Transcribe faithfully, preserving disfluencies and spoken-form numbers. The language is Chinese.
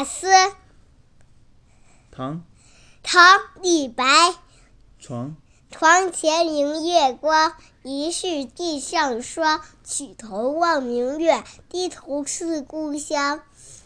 夏思。 唐唐李白。 床床前明月光，疑是地上霜。举头望明月，低头思故乡。